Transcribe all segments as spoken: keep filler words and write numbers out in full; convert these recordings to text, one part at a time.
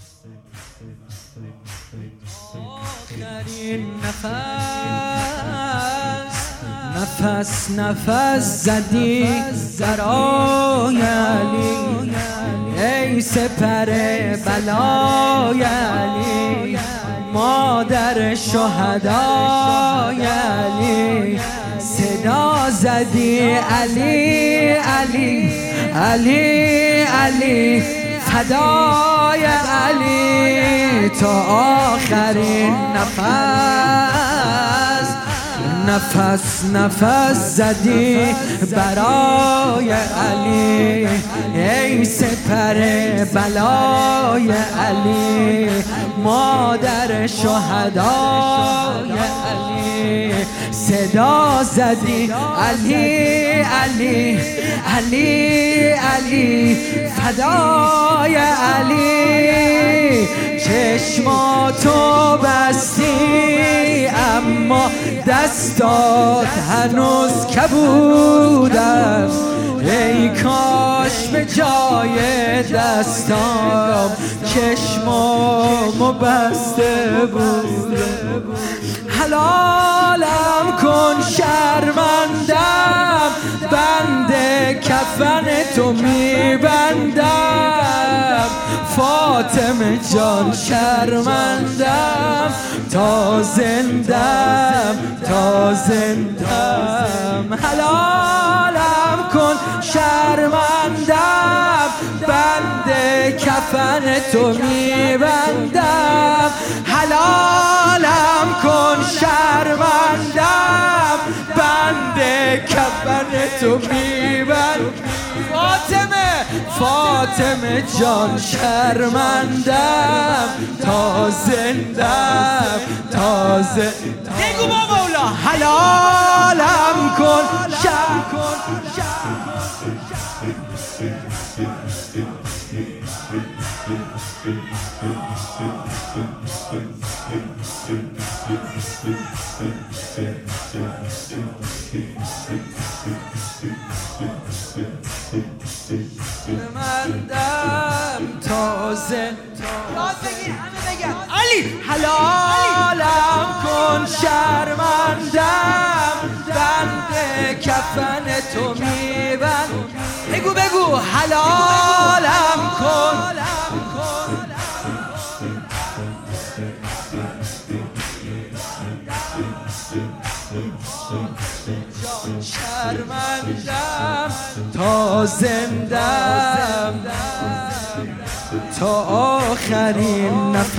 آخرین نفس نفس نفس زدی برای علی، ای سپر بلای علی، مادر شهدای علی. صدا زدی علی علی علی علی، فدای علی تا آخرین نفس. نفس نفس زدی برای علی، ای سپر بلای علی، مادر شهدای علی. صدا زدی علی علی علی علی، فدای علی. چشماتو بستی اما دستات هنوز کبودن، ای کاش به جای دستام چشمامو بسته بودم. حلالم کن شرمندم، بند کفن تو میبندم. فاطمه جان شرمندم، تا زندم تا زندم. حلالم کن شرمندم، بند کفن تو میبندم. حلالم کن شرمندم، بند کفن تو میبندم. فاطمه فاطمه جان شرمندم، تا زندم تا زندم. بگو با مولا حلالم کن شرم کن شرمندم تا زندم. علی حلالم کن شرمندم، بند کفن تو میبند. بگو بگو حلالم کن شرمندم تا زندم تا آخرین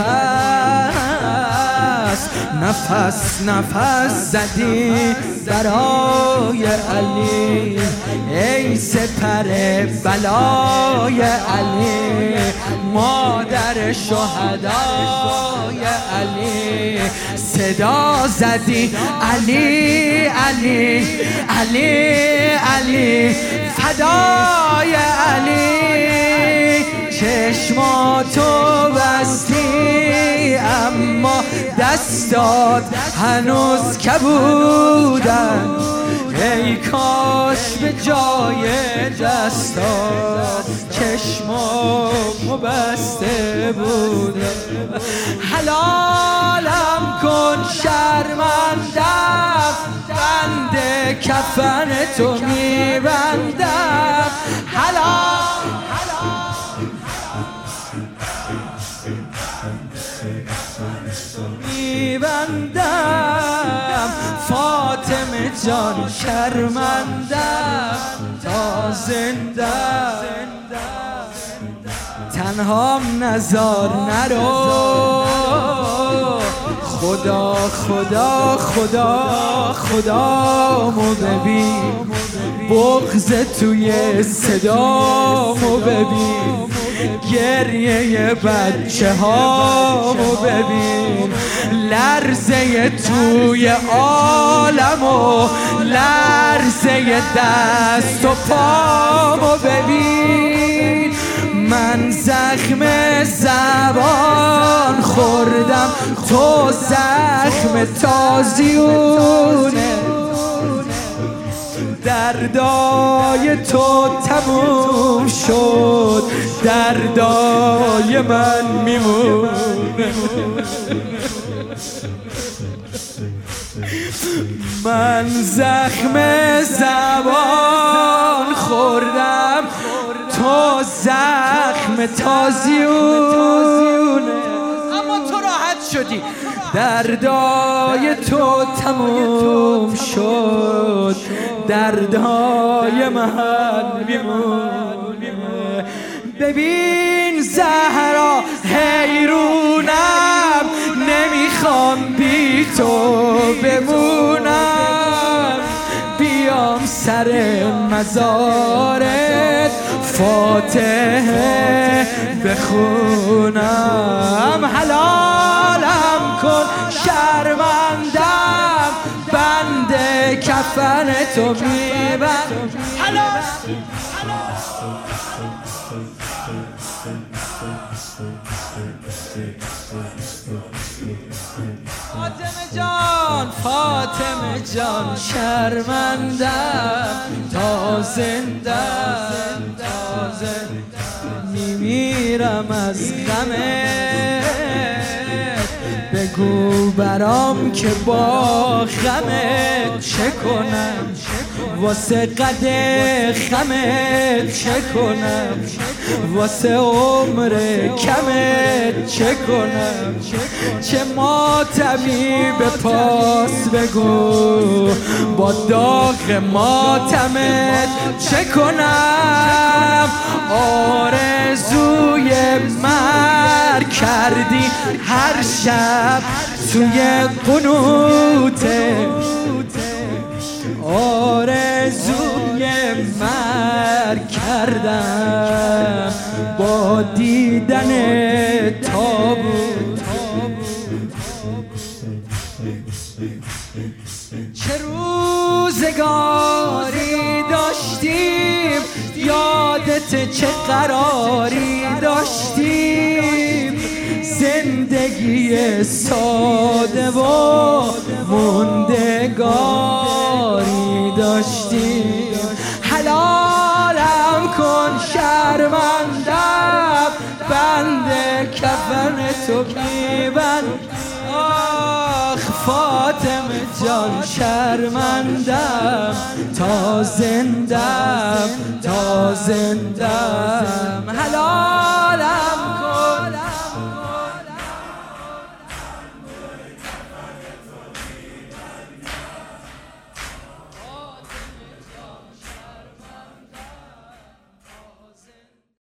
نفس. نفس نفس زدی برای علی، ای سپر بلای علی، مادر شهدای علی. صدا زدی علی علی علی علی، فدای علی. چشماتو بستی اما دستات هنوز کبودن، ای کاش به جای دستات چشمامو بسته بودم. حلالم کن شرمندم، بند کفن تو میبندم. حلال میبندم. فاطمه جان شرمندم تا زندم. تنهام نزار نرو، خدا خدا خدا خدامو ببین. بغض توی صدامو ببین، گریه بچه هامو ببین. لرزه توی عالمو، لرزه دست و پامو ببین. من زخم زبان خوردم، تو زخم تازیونه. دردای تو تموم شد، دردای من میمونه. من زخم زبان خوردم، تو زخم تازیونه، اما تو راحت شدی. دردای تو تموم شد، دردای من میمونه. ببین زهرا حیرونم، نمیخوام بی تو بمونم. بیام سر مزارت فاتحه بخونم. حلالم کن شرمندم، بند کفن تو میبند. حلال فاطمه جان، فاطمه جان، شرمندم تا زندم، تا زندم میمیرم از غمت. بگو برام که با غمت چه کنم، واسه قد خمت چه کنم، واسه عمر کمت چه کنم. چه ماتمی به پاس بگو، با داغ ماتمت چه کنم. آرزوی مرگ کردی هر شب توی قنوته، آرزوی مرگ کردم با دیدن تابوت. چه روزگاری داشتیم، یادت چه قراری داشتیم. زندگی ساده و موندگاری داشتیم. حلالم کن شرمندم، بند کفن تو میبند. آخ فاطمه جان شرمندم، تا زندم، تا زندم.